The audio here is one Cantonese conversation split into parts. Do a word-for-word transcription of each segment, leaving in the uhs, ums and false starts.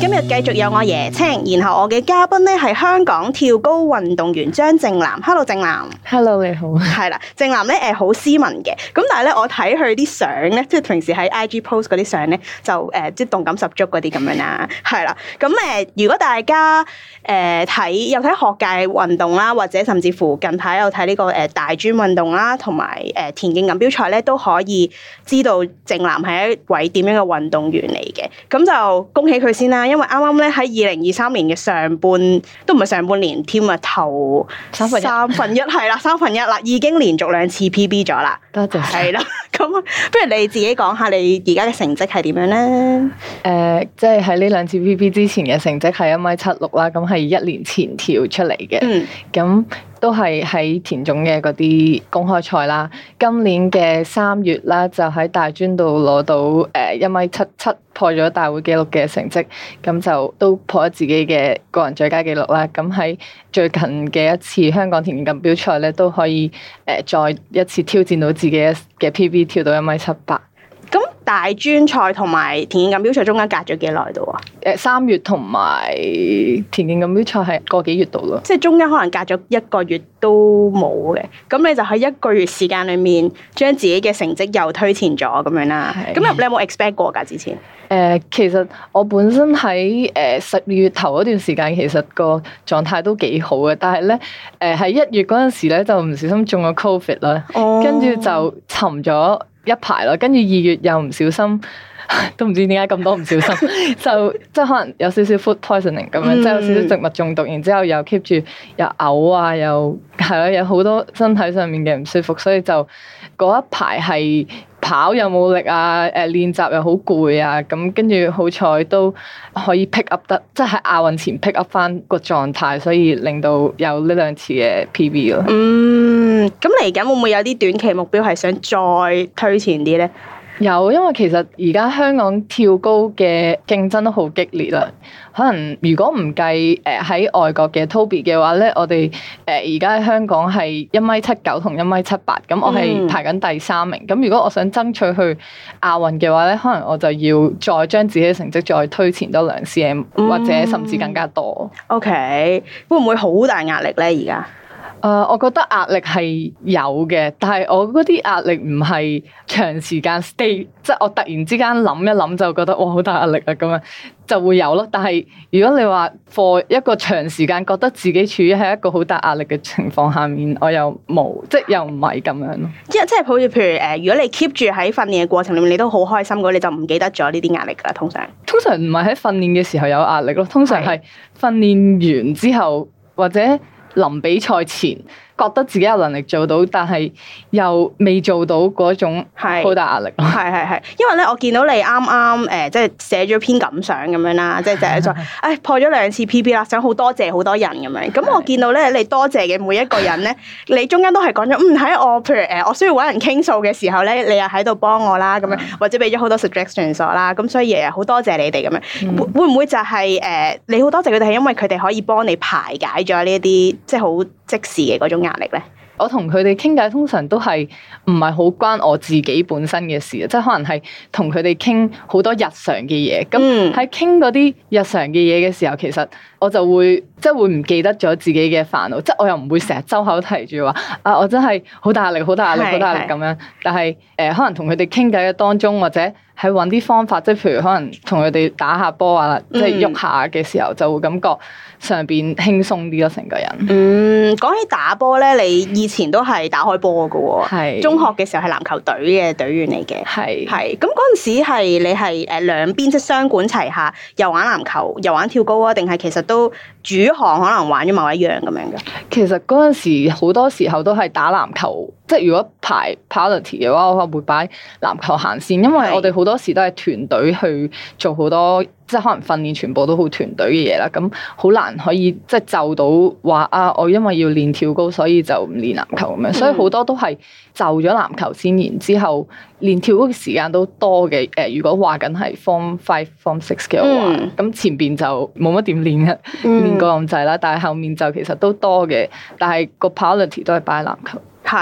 今日繼續有我椰青，然後我嘅嘉賓咧係香港跳高運動員張正楠。Hello， 正楠。 Hello， 你好。 係啦，正楠咧誒好斯文嘅，咁但係咧我睇佢啲相咧，即係平時喺 I G post 嗰啲相咧，就誒即係動感十足嗰啲咁樣啦。係啦，咁誒如果大家誒睇有睇學界運動啦，或者甚至乎近排有睇呢個誒大專運動啦，同埋誒田徑錦標賽咧，都可以知道正楠係一位點樣嘅運動員嚟嘅。咁就恭喜佢先啦，因為啱啱咧喺二零二三年嘅上半都唔係上半年添啊，頭三分一三分一係啦，三分一啦，已經連續兩次 P B 咗啦。 多謝。 係啦，咁不如你自己講下你而家嘅成績係點樣咧？誒、 呃，即係喺呢兩次 P B 之前嘅成績係一米七六啦，咁係一年前跳出嚟嘅。嗯，咁。都係喺田總嘅嗰啲公開賽啦。今年嘅三月啦，就喺大專度攞到誒一米七七，破咗大會紀錄嘅成績，咁就都破咗自己嘅個人最佳紀錄啦。咁喺最近嘅一次香港田徑錦標賽咧，都可以誒再一次挑戰到自己嘅 P B， 跳到一米七八。 咁大專賽同埋田徑錦標賽中間隔咗幾耐度啊？ 誒三月同埋田徑錦標賽係個幾月度咯， 即係中間可能隔咗一個月都冇嘅。咁你就喺一個月時間裏面將自己嘅成績又推前咗咁樣啦。咁你有冇 expect 過㗎之前？誒、 呃，其實我本身喺誒十二月頭嗰段時間，其實個狀態都幾好嘅，但係咧誒喺一月嗰陣時咧就唔小心中咗 Covid 啦，跟住、哦、就沉咗一排咯，跟住二月又唔小心，都唔知點解咁多唔小心，就即係可能有少少 food poisoning 咁樣，嗯、即係有少少植物中毒，然之後又 keep 住又嘔啊，又係咯，有好多身體上面嘅唔舒服，所以就嗰一排係跑又冇力啊，誒練習又好攰啊，咁跟住好彩都可以 pick up 得，即係喺亞運前 pick up 翻個狀態，所以令到有呢兩次嘅 P B 咯。 嗯，咁嚟緊會唔會有啲短期目標係想再推前啲咧？ 有，因為其實而家香港跳高嘅競爭都好激烈啦。可能如果唔計誒喺外國嘅 Toby 嘅話咧，我哋誒而家喺香港係一米七九同一米七八，咁我係排緊第三名。咁、嗯、如果我想爭取去亞運嘅話咧，可能我就要再將自己嘅成績再推前多兩 cm，嗯、或者甚至更加多。 OK，會唔會好大壓力咧？而家？ 誒，uh, 我覺得壓力係有嘅，但係我嗰啲壓力唔係長時間 stay，即係我突然之間諗一諗就覺得哇好大壓力啊咁樣就會有咯。但係如果你話 for 一個長時間覺得自己處於喺一個好大壓力嘅情況下面，我又冇，即係又唔係咁樣咯。即係即係好似譬如誒，如果你 keep 住喺訓練嘅過程裏面，你都好開心嘅，你就唔記得咗呢啲壓力噶啦。通常通常唔係喺訓練嘅時候有壓力咯，通常係訓練完之後或者臨比賽前覺得自己有能力做到，但係又未做到嗰種好大壓力咯。 係係係，因為咧我見到你啱啱誒，即係寫咗篇感想咁樣啦，即係就係話，唉破咗兩次 P B 啦，想好多謝好多人咁樣。咁我見到咧，你多謝嘅每一個人咧，你中間都係講咗，嗯喺我譬如誒，我需要揾人傾訴嘅時候咧，你又喺度幫我啦，咁樣或者俾咗好多 suggestions 啦，咁所以誒好多謝你哋咁樣。嗯、會會唔會就係、是、誒你好多謝佢哋係因為佢哋可以幫你排解咗呢一啲即係好即時嘅嗰種壓力咧？ 我同佢哋傾偈通常都係唔係好關我自己本身嘅事啊，即係可能係同佢哋傾好多日常嘅嘢。咁喺傾嗰啲日常嘅嘢嘅時候，其實我就會即係會唔記得咗自己嘅煩惱，即係我又唔會成日周口提住話啊，我真係好大壓力、好大壓力、好大壓力咁樣。但係誒、呃，可能同佢哋傾偈嘅當中，或者喺揾啲方法，即係譬如可能同佢哋打下波啊，即係喐下嘅時候，就會感覺上邊輕鬆啲咯，成個人。 嗯，講起打波咧，你以前都係打開波㗎喎，係中學嘅時候係籃球隊嘅隊員嚟嘅，係係。咁嗰陣時係你係誒兩邊即係雙管齊下，又玩籃球又玩跳高啊？定係其實都主項可能玩咗某一樣咁樣嘅？ 其實嗰陣時好多時候都係打籃球。即係如果排 priority 嘅話，我會擺籃球行先，因為我哋好多時都係團隊去做好多，即係可能訓練全部都好團隊嘅嘢啦。咁好難可以即係就到話啊，我因為要練跳高，所以就唔練籃球咁樣。嗯、所以好多都係就咗籃球先，然之後練跳高嘅時間都多嘅。誒、呃，如果話緊係 form five、form six 嘅話，咁、嗯、前邊就冇乜點練嘅，練過咁滯啦。但係後面就其實都多嘅，但係個 priority 都係擺籃球。 係。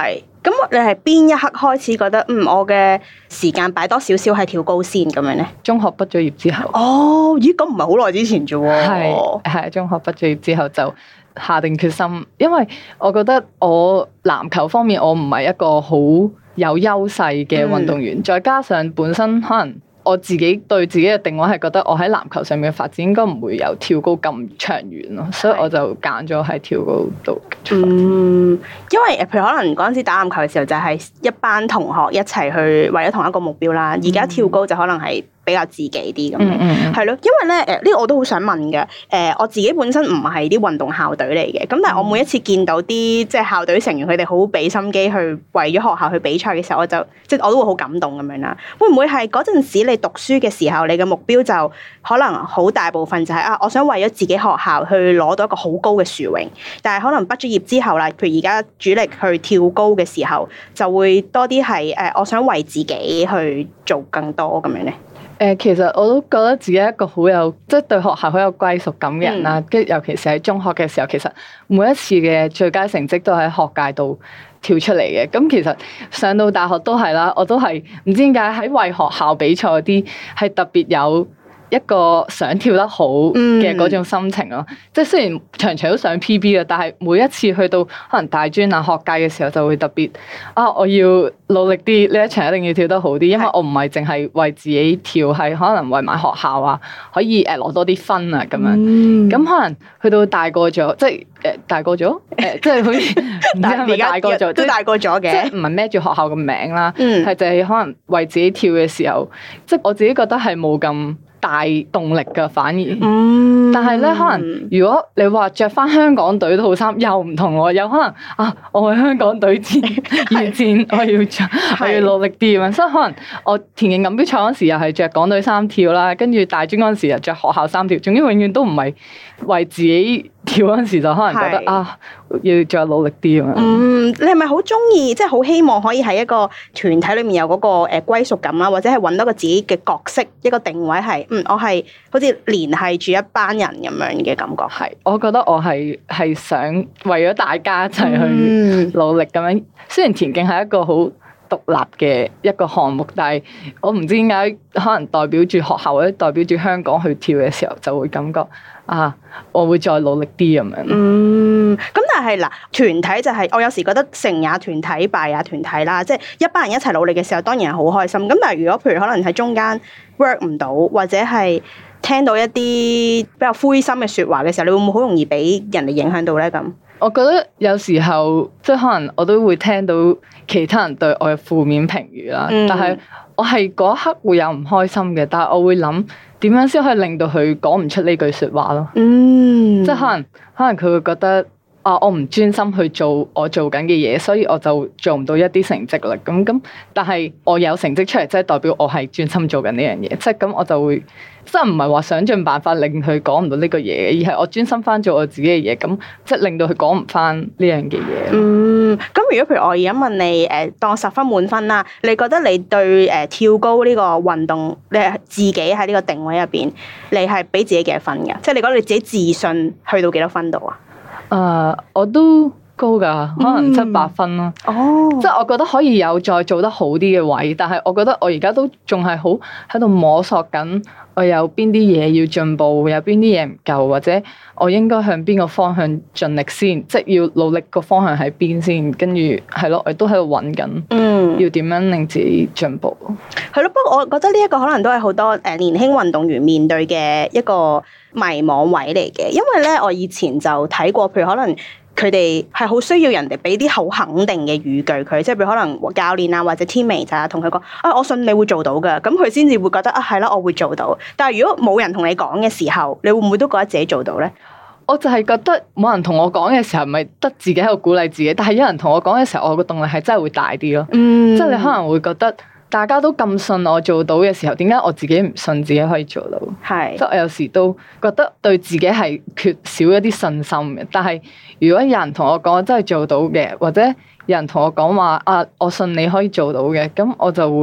咁你係邊一刻開始覺得嗯我嘅時間擺多少少係跳高先咁樣咧？ 中學畢咗業之後。 哦，咦，咁唔係好耐之前啫喎。 係係中學畢咗業之後就下定決心，因為我覺得我籃球方面我唔係一個好有優勢嘅運動員，嗯、再加上本身可能我自己對自己嘅定位係覺得我喺籃球上面嘅發展應該唔會有跳高咁長遠咯，所以我就揀咗喺跳高度。 嗯，因為譬如可能嗰陣時打籃球嘅時候就係一班同學一齊去為咗同一個目標啦，而家跳高就可能係比較自己啲咁樣，係咯、嗯嗯，因為咧誒呢個我都好想問嘅，誒、呃、我自己本身唔係啲運動校隊嚟嘅，咁但係我每一次見到啲即係校隊成員佢哋好俾心機去為咗學校去比賽嘅時候，我就即係我都會好感動咁樣啦。會唔會係嗰陣時你讀書嘅時候，你嘅目標就可能好大部分就係、是、啊，我想為咗自己學校去攞到一個好高嘅殊榮，但係可能畢咗業之後啦，譬如而家主力去跳高嘅時候，就會多啲係誒，我想為自己去做更多咁樣咧。 誒，其實我都覺得自己係一個好有即係、就是、對學校好有歸屬感嘅人啦。跟住、嗯、尤其是喺中學嘅時候，其實每一次嘅最佳成績都喺學界度跳出嚟嘅。咁其實上到大學都係啦，我都係唔知點解喺為學校比賽嗰啲係特別有一個想跳得好嘅嗰種心情咯，嗯、即係雖然場場都上 P B 嘅，但係每一次去到可能大專啊學界嘅時候，就會特別啊，我要努力啲，呢一場一定要跳得好啲，因為我唔係淨係為自己跳，係可能為埋學校啊，可以誒攞多啲分啊咁樣。咁、嗯、可能去到大個咗，即係誒、呃、大個咗，誒、呃、即係好似唔知係咪大個咗， 都大個咗嘅， 即係唔係孭住學校嘅名啦，係、 嗯、 就係可能為自己跳嘅時候，即係我自己覺得係冇咁大動力㗎，反而，嗯、但係咧，可能如果你話着翻香港隊套衫又唔同喎，有可能啊，我係香港隊戰預戰，我要着，我要努力啲咁樣，所以可能我田徑錦標賽嗰時又係着港隊衫跳啦，跟住大專嗰陣時又着學校衫跳，總之永遠都唔係為自己跳嗰陣時就可能覺得是啊，要再努力啲咁樣。 嗯，你係咪好中意，即係好希望可以喺一個團體裏面有嗰個誒歸屬感啦，或者係揾到個自己嘅角色，一個定位係，嗯，我係好似聯繫住一班人咁樣嘅感覺。 係，我覺得我係係想為咗大家一齊去努力咁樣。嗯、雖然田徑係一個好獨立嘅一個項目，但係我唔知點解可能代表住學校或者代表住香港去跳嘅時候，就會感覺啊，我會再努力啲咁樣。嗯， 咁但係嗱，團體就係、是、我有時覺得成也團體，敗也團體啦，即係一班人一齊努力嘅時候，當然係好開心。咁但係如果譬如可能喺中間 work 唔到，或者係聽到一啲比較灰心嘅説話嘅時候，你會唔會好容易俾人哋影響到咧？咁？ 我覺得有時候即係可能我都會聽到其他人對我嘅負面評語啦，嗯、但係我係嗰一刻會有唔開心嘅，但係我會諗點樣先可以令到佢講唔出呢句説話咯。嗯，即係可能可能佢會覺得啊，我唔專心去做我做緊嘅嘢，所以我就做唔到一啲成績啦。咁咁，但係我有成績出嚟，即係代表我係專心做緊呢樣嘢。即係咁，我就會即係唔係話想盡辦法令佢講唔到呢個嘢，而係我專心翻做我自己嘅嘢。咁即係令到佢講唔翻呢樣嘅嘢。嗯， 咁如果譬如我而家問你，誒當十分滿分啦，你覺得你對誒跳高呢個運動，你係自己喺呢個定位入邊，你係俾自己幾多分㗎？即係你覺得你自己自信去到幾多分度啊？ 誒，uh, 我都高噶，可能七八分咯。哦，即係我覺得可以有再做得好啲嘅位，但係我覺得我而家都仲係好喺度摸索緊，我有邊啲嘢要進步，有邊啲嘢唔夠，或者我應該向邊個方向盡力先，即係要努力個方向喺邊先，跟住係咯，我都喺度揾緊，嗯，要點樣令自己進步。 係咯，不過我覺得呢一個可能都係好多誒年輕運動員面對嘅一個迷惘位嚟嘅，因為咧我以前就睇過，譬如可能佢哋係好需要人哋俾啲好肯定嘅語句佢，即係譬如可能教練啊或者 teammate 啊同佢講啊，我信你會做到㗎，咁佢先至會覺得啊係啦，我會做到。但係如果冇人同你講嘅時候，你會唔會都覺得自己做到咧？ 我就係覺得冇人同我講嘅時候，咪得自己喺度鼓勵自己。但係有人同我講嘅時候，我個動力係真係會大啲咯。嗯，即係你可能會覺得。大家都咁信我做到嘅時候，點解我自己唔信自己可以做到？係是，即係我有時都覺得對自己係缺少一啲信心嘅。但係如果有人同我講我真係做到嘅，或者有人同我講話啊，我信你可以做到嘅，咁我就會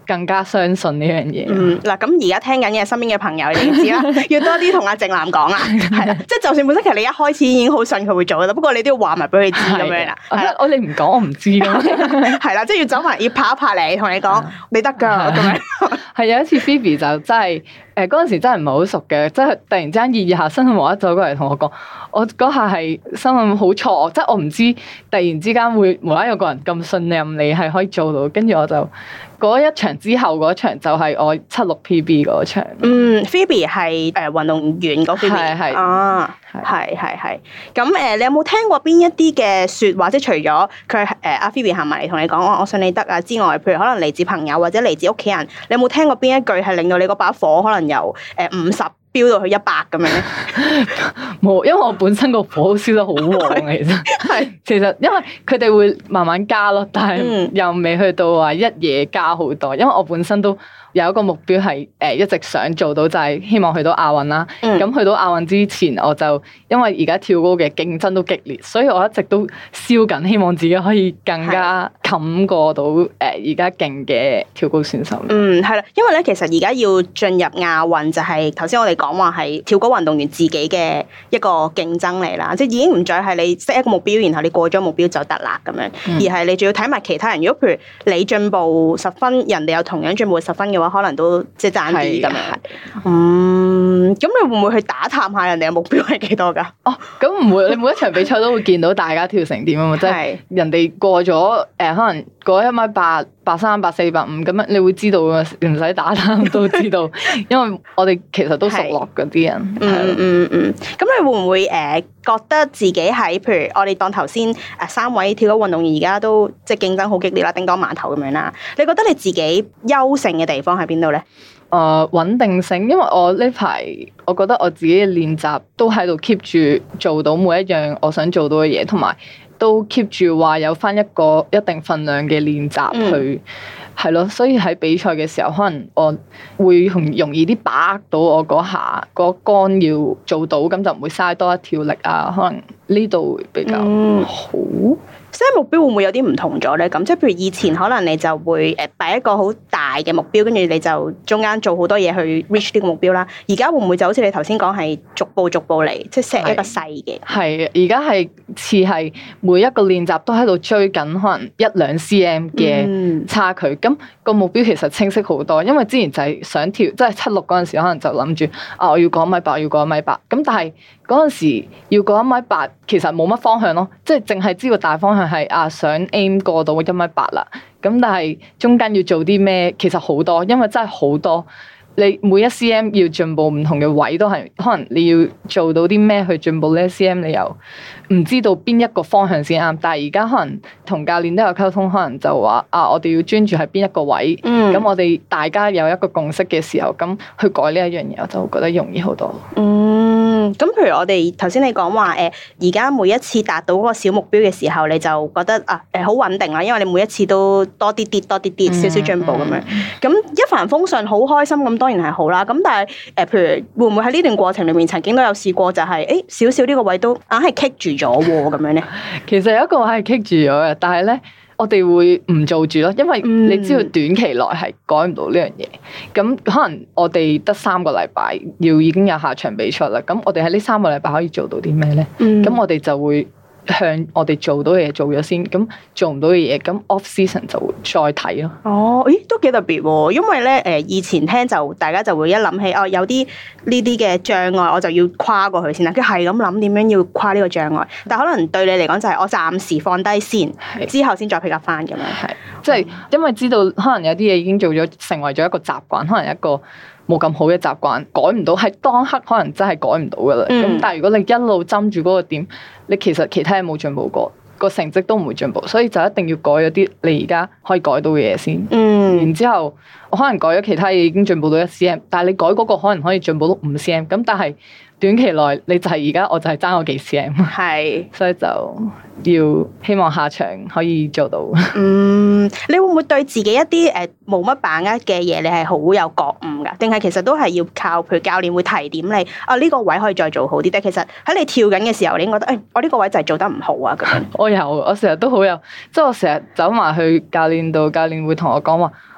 更加相信呢樣嘢。 嗯，嗱，咁而家聽緊嘅身邊嘅朋友，你知啦，要多啲同阿靜南講啦，係啦，即係就算本身其實你一開始已經好信佢會做啦，不過你都要話埋俾佢知咁樣啦。 係啦，我你唔講我唔知咯。 係啦，即係要走埋，要拍一拍你，同你講你得㗎咁樣。 係有一次 Phoebe 就真係誒嗰陣時真係唔係好熟嘅，即係突然之間意下身無一走過嚟同我講，我嗰下係心諗好錯，即係我唔知突然之間會無啦啦有個人咁信任你係可以做到，跟住我就嗰一場之後嗰場就係我七六 P B 嗰場。嗯 ，Phoebe 係誒運動員嗰 Phoebe 係係啊，係係係。咁誒，你有冇聽過邊一啲嘅説話？即係除咗佢誒阿 Phoebe 行埋嚟同你講我我信你得啊之外，譬如可能嚟自朋友或者嚟自屋企人，你有冇聽過邊一句係令到你嗰把火可能由誒五十飆到去一百咁樣咧？ 冇，因為我本身個火燒得好旺，其實係其實因為佢哋會慢慢加咯，但係又未去到話一夜加好多，因為我本身都有一個目標係誒一直想做到，就係希望去到亞運啦。咁、嗯、去到亞運之前，我就因為而家跳高嘅競爭都激烈，所以我一直都燒緊，希望自己可以更加冚過到誒而家勁嘅跳高選手。 嗯，係啦，因為咧其實而家要進入亞運，就係頭先我哋講話係跳高運動員自己嘅一個競爭嚟啦，即係已經唔再係你 set 一個目標，然後你過咗目標就得啦咁樣，嗯、而係你仲要睇埋其他人。如果譬如你進步十分，人哋有同樣進步十分嘅話，可能都即係爭啲咁樣。嗯，咁你會唔會去打探下人哋嘅目標係幾多㗎？ 哦，咁唔會，你每一場比賽都會見到大家跳成點啊嘛，即係人哋過咗誒、呃，可能過一米八、八三、八四、八五咁樣，你會知道㗎，唔使打探都知道，因為我哋其實都熟絡嗰啲人。 嗯嗯嗯，咁你會唔會誒、呃、覺得自己喺譬如我哋當頭先誒三位跳高運動員而家都即係競爭好激烈啦，叮噹碼頭咁樣啦，你覺得你自己優勝嘅地方喺邊度咧？ 誒、呃、穩定性，因為我呢排我覺得我自己嘅練習都喺度 keep 住做到每一樣我想做到嘅嘢，同埋都 keep 住話有返一個一定份量嘅練習去係咯、嗯，所以喺比賽嘅時候，可能我會容容易啲把握到我嗰下嗰桿要做到，咁就唔會嘥多一條力啊。可能呢度會比較好。 即係目標會唔會有啲唔同咗咧？咁即係譬如以前可能你就會誒擺一個好大嘅目標，跟住你就中間做好多嘢去 reach 呢個目標啦。而家會唔會就好似你頭先講係逐步逐步嚟，即係 set 一個細嘅？係， 而家係似係每一個練習都喺度追緊可能一兩 cm 嘅差距。咁、嗯、個目標其實清晰好多，因為之前就係想跳，即係七六嗰陣時可能就諗住啊，我要過一米八，我要過一米八。咁但係嗰陣時要過一米八，其實冇乜方向咯，即係淨係知道大方向係啊想 aim 過到一米八啦。咁但係中間要做啲咩，其實好多，因為真係好多。你每一 cm 要進步唔同嘅位都係，可能你要做到啲咩去進步呢一 cm， 你又唔知道邊一個方向先啱。但係而家可能同教練都有溝通，可能就話啊，我哋要專注喺邊一個位，咁、嗯、我哋大家有一個共識嘅時候，咁去改呢一樣嘢，我就覺得容易好多。 嗯，咁譬如我哋頭先你講話誒，而家每一次達到嗰個小目標嘅時候，你就覺得啊誒好穩定啦，因為你每一次都多啲啲多啲啲少少進步咁樣，咁、嗯嗯、一帆風順，好開心咁。當然係好啦，咁但係誒，譬如會唔會喺呢段過程裏面曾經都有試過、就是，就係誒少少呢個位都硬係棘住咗喎，咁樣咧？ 其實有一個位係棘住咗嘅，但係咧我哋會唔做住咯，因為你知道短期內係改唔到呢樣嘢。咁、嗯、可能我哋得三個禮拜要已經有下場比賽啦。咁我哋喺呢三個禮拜可以做到啲咩咧？咁、嗯、我哋就會向我哋做到嘅嘢做咗先，咁做唔到嘅嘢，咁 off season 就會再睇咯。 哦，咦，都幾特別喎！因為咧，誒以前聽就大家就會一諗起哦，有啲呢啲嘅障礙，我就要跨過去先啦。佢係咁諗點樣要跨呢個障礙，但可能對你嚟講就係我暫時放低先，是之後先再 pick up 翻咁樣。係，即係因為知道可能有啲嘢已經做咗，成為咗一個習慣，可能一個冇咁好嘅習慣，改唔到，係當刻可能真係改唔到噶啦。咁、嗯、但係如果你一路針住嗰個點，你其實其他嘢冇進步過，個成績都唔會進步，所以就一定要改咗啲你而家可以改到嘅嘢先。嗯，然之後我可能改咗其他嘢已經進步到一 cm， 但係你改嗰個可能可以進步到五 cm， 咁但係短期內你就係而家我就係爭我幾 cm， 係，所以就要希望下場可以做到。 嗯，你會唔會對自己一啲誒冇乜把握嘅嘢，你係好有覺悟噶？定係其實都係要靠譬如教練會提點你啊？呢個位可以再做好啲。但係其實喺你跳緊嘅時候，你已經覺得誒、哎，我呢個位就係做得唔好啊咁樣。 我有，我成日都好有，即係我成日走埋去教練度，教練會同我講話。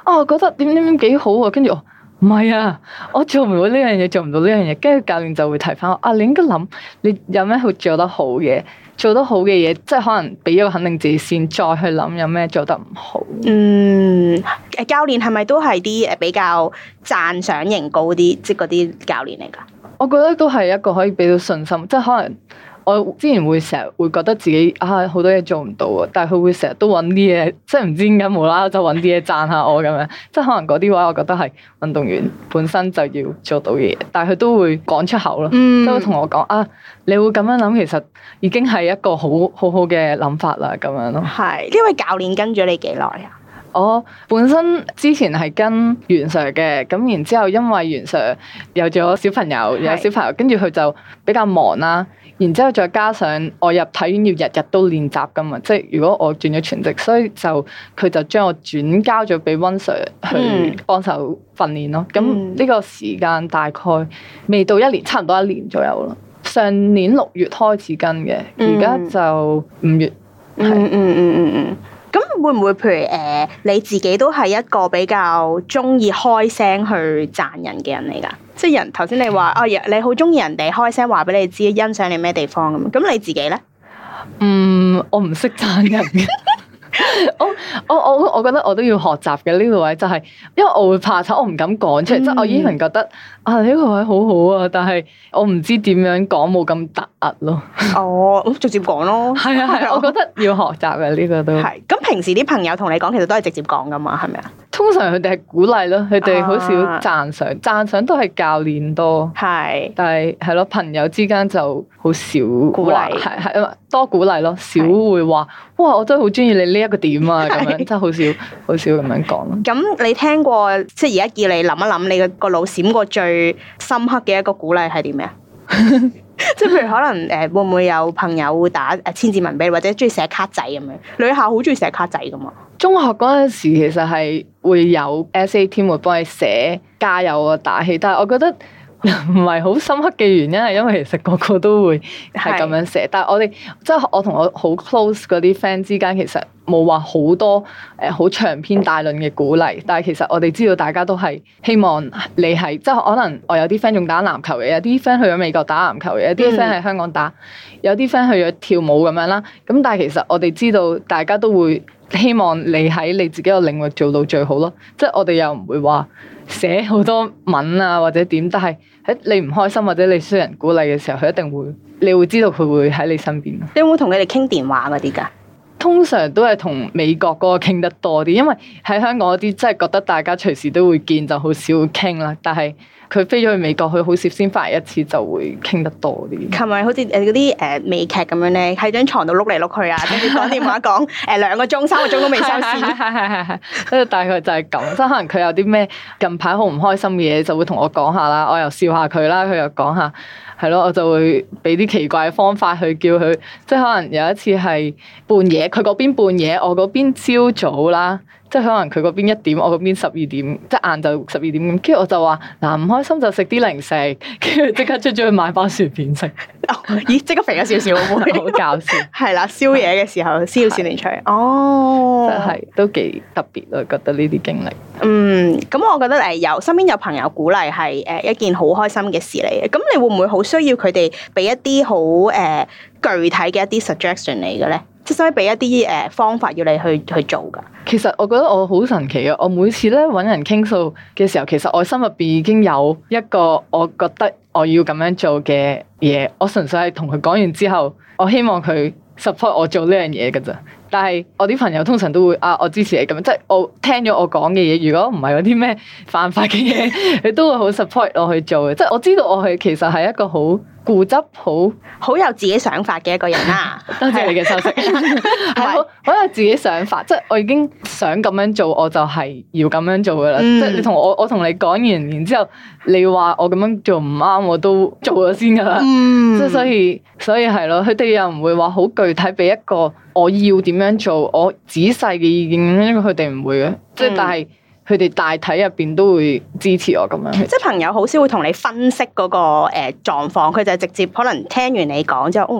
啊，我覺得點點點幾好喎，跟住我。唔係啊，我做唔到呢樣嘢，做唔到呢樣嘢，跟住教練就會提翻我啊，你應該諗你有咩會做得好嘅，做得好嘅嘢，即係可能俾咗個肯定自己先，再去諗有咩做得唔好。 嗯，誒教練係咪都係啲誒比較讚賞型高啲，即係嗰啲教練嚟㗎？ 我覺得都係一個可以俾到信心，即係可能。我之前會成日會覺得自己啊好多嘢做唔到啊，但係佢會成日都揾啲嘢，即係唔知點解無啦啦就揾啲嘢讚下我咁樣，即係可能嗰啲話我覺得係運動員本身就要做到嘅嘢，但係佢都會講出口咯，嗯、都會同我講啊，你會咁樣諗，其實已經係一個好好好嘅諗法啦，咁樣咯。 係呢位教練跟咗你幾耐啊？ 我本身之前係跟袁 Sir 嘅，咁然之後因為袁 Sir 有咗小朋友，有小朋友，跟住佢就比較忙啦。然之後再加上我入體院要日日都練習噶嘛，即係如果我轉咗全職，所以就佢就將我轉交咗俾温 Sir 去幫手訓練咯。咁呢、嗯、個時間大概未到一年，差唔多一年左右咯。上年六月開始跟嘅，而家就五月。 嗯嗯嗯嗯嗯。咁會唔會譬如誒、呃、你自己都係一個比較中意開聲去讚人嘅人嚟㗎？即係人頭先你話哦，你好中意人哋開聲話俾你知欣賞你咩地方咁，咁你自己咧？ 嗯，我唔識讚人嘅。我我我我覺得我都要學習嘅呢個位，就係因為我會怕醜，我唔敢講出嚟。即係、嗯、我依然覺得啊呢個位好好啊，但係我唔知點樣講冇咁突兀咯。哦， 咁直接講咯。係啊係， 我覺得要學習嘅呢個都係。咁平時啲朋友同你講，其實都係直接講噶嘛，係咪啊？ 通常佢哋係鼓勵咯，佢哋好少讚賞，讚賞都係教練多。係是，但係係咯，朋友之間就好少鼓勵，係係多鼓勵咯，少會話是哇，我真係好中意你呢一個點啊咁樣，真係好少好少咁樣講咯。 咁你聽過即係而家叫你諗一諗，你個腦閃過最深刻嘅一個鼓勵係點咩啊？即係譬如可能誒，會唔會有朋友會打誒千字文俾你，或者中意寫卡仔咁樣？女校好中意寫卡仔噶嘛？中學嗰陣時其實係會有 S A team 會幫你寫加油啊打氣，但係我覺得唔係好深刻嘅原因係因為其實個個都會係咁樣寫，是但係我哋即係我同我好 close 嗰啲 friend 之間其實冇話好多誒好長篇大論嘅鼓勵，但係其實我哋知道大家都係希望你係即係可能我有啲 friend 仲打籃球嘅，有啲 friend 去咗美國打籃球嘅，有啲 friend 喺香港打，有啲 friend 去咗跳舞咁樣啦。咁但係其實我哋知道大家都會希望你喺你自己個領域做到最好咯。即係我哋又唔會話寫好多文啊或者點，但係喺你唔開心或者你需要人鼓勵嘅時候，佢一定會，你會知道佢會喺你身邊。你有冇同佢哋傾電話嗰啲㗎？通常都係同美國嗰個傾得多啲，因為喺香港嗰啲真係覺得大家隨時都會見，就好少會傾啦。但係佢飛咗去美國，佢好少先翻嚟一次，就會傾得多啲。係咪好似誒嗰啲誒美劇咁樣咧，喺張床度碌嚟碌去啊，跟住講電話講誒兩個鐘、三個鐘都未收線。係係係係，跟住大概就係咁。即係可能佢有啲咩近排好唔開心嘅嘢，就會同我講下啦，我又笑下佢啦，佢又講下。係咯，我就會俾啲奇怪嘅方法去叫佢，即係可能有一次係半夜，佢嗰邊半夜，我嗰邊朝早啦，即係可能佢嗰邊一點，我嗰邊十二點，即係晏晝十二點咁。跟住我就話嗱，唔開心就食啲零食，跟住即刻出咗去買包薯片食。咦，即刻肥咗少少，會好搞笑。係啦，宵夜嘅時候燒少年出嚟。哦，真係都幾特別咯，覺得呢啲經歷。嗯，咁我覺得誒有身邊有朋友鼓勵係誒一件好開心嘅事嚟嘅。咁你會唔會好需要佢哋俾一啲好誒具體嘅一啲 suggestion 嚟嘅咧？即係使唔使俾一啲誒方法要你去去做㗎？其實我覺得我好神奇啊！我每次咧揾人傾訴嘅時候，其實我心入邊已經有一個我覺得我要咁樣做嘅嘢。我純粹係同佢講完之後，我希望佢 support 我做呢樣嘢㗎咋。但係我啲朋友通常都會啊，我支持你咁樣，即係我聽咗我講嘅嘢，如果唔係嗰啲咩犯法嘅嘢，佢都會好 support 我去做嘅。即係我知道我係其實係一個好固執、好好有自己想法嘅一個人啦。多謝你嘅收息，係好好有自己想法，即係我已經想咁樣做，我就係要咁樣做噶啦。嗯、即係你同我，我同你講完，然之後你話我咁樣做唔啱，我都做咗先噶啦。嗯、即係所以，所以係咯，佢哋又唔會話好具體俾一個我要點樣做，我仔細嘅意見，因為佢哋唔會嘅。即係、嗯、但係佢哋大體入邊都會支持我咁樣。即係朋友好少會同你分析嗰個誒狀況，佢就係直接可能聽完你講之後，哦，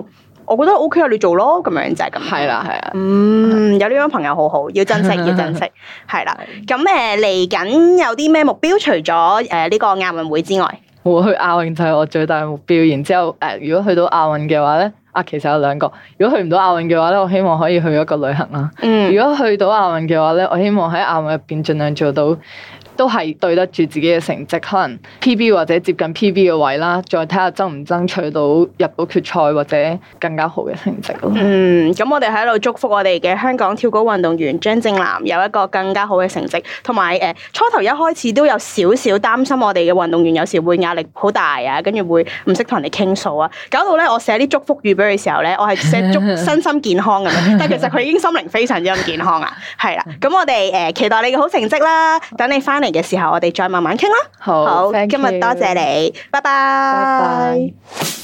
我覺得 O K 啊，你做咯，咁樣就係咁。 係啦，係啊。 嗯，有呢種朋友好好，要珍惜，要珍惜。係啦，咁誒嚟緊有啲咩目標？除咗誒呢個亞運會之外， 我去亞運就係我最大嘅目標。然之後誒、呃，如果去到亞運嘅話咧，啊，其實有兩個。如果去唔到亞運嘅話咧，我希望可以去一個旅行啦。嗯。如果去到亞運嘅話咧，我希望喺亞運入邊盡量做到。都係對得住自己嘅成績，可能 P B 或者接近 P B 嘅位啦，再睇下爭唔爭取到入到決賽或者更加好嘅成績咯。 嗯，咁我哋喺度祝福我哋嘅香港跳高運動員張正南有一個更加好嘅成績，同埋誒初頭一開始都有少少擔心我哋嘅運動員有時會壓力好大啊，跟住會唔識同人哋傾訴啊，搞到咧我寫啲祝福語俾佢嘅時候咧，我係寫祝身心健康咁樣，但係其實佢已經心靈非常之咁健康啊，係啦，咁我哋誒期待你嘅好成績啦，等你翻嚟嘅時候，我哋再慢慢傾啦。 好， 好，今日多謝你，拜拜。 拜拜。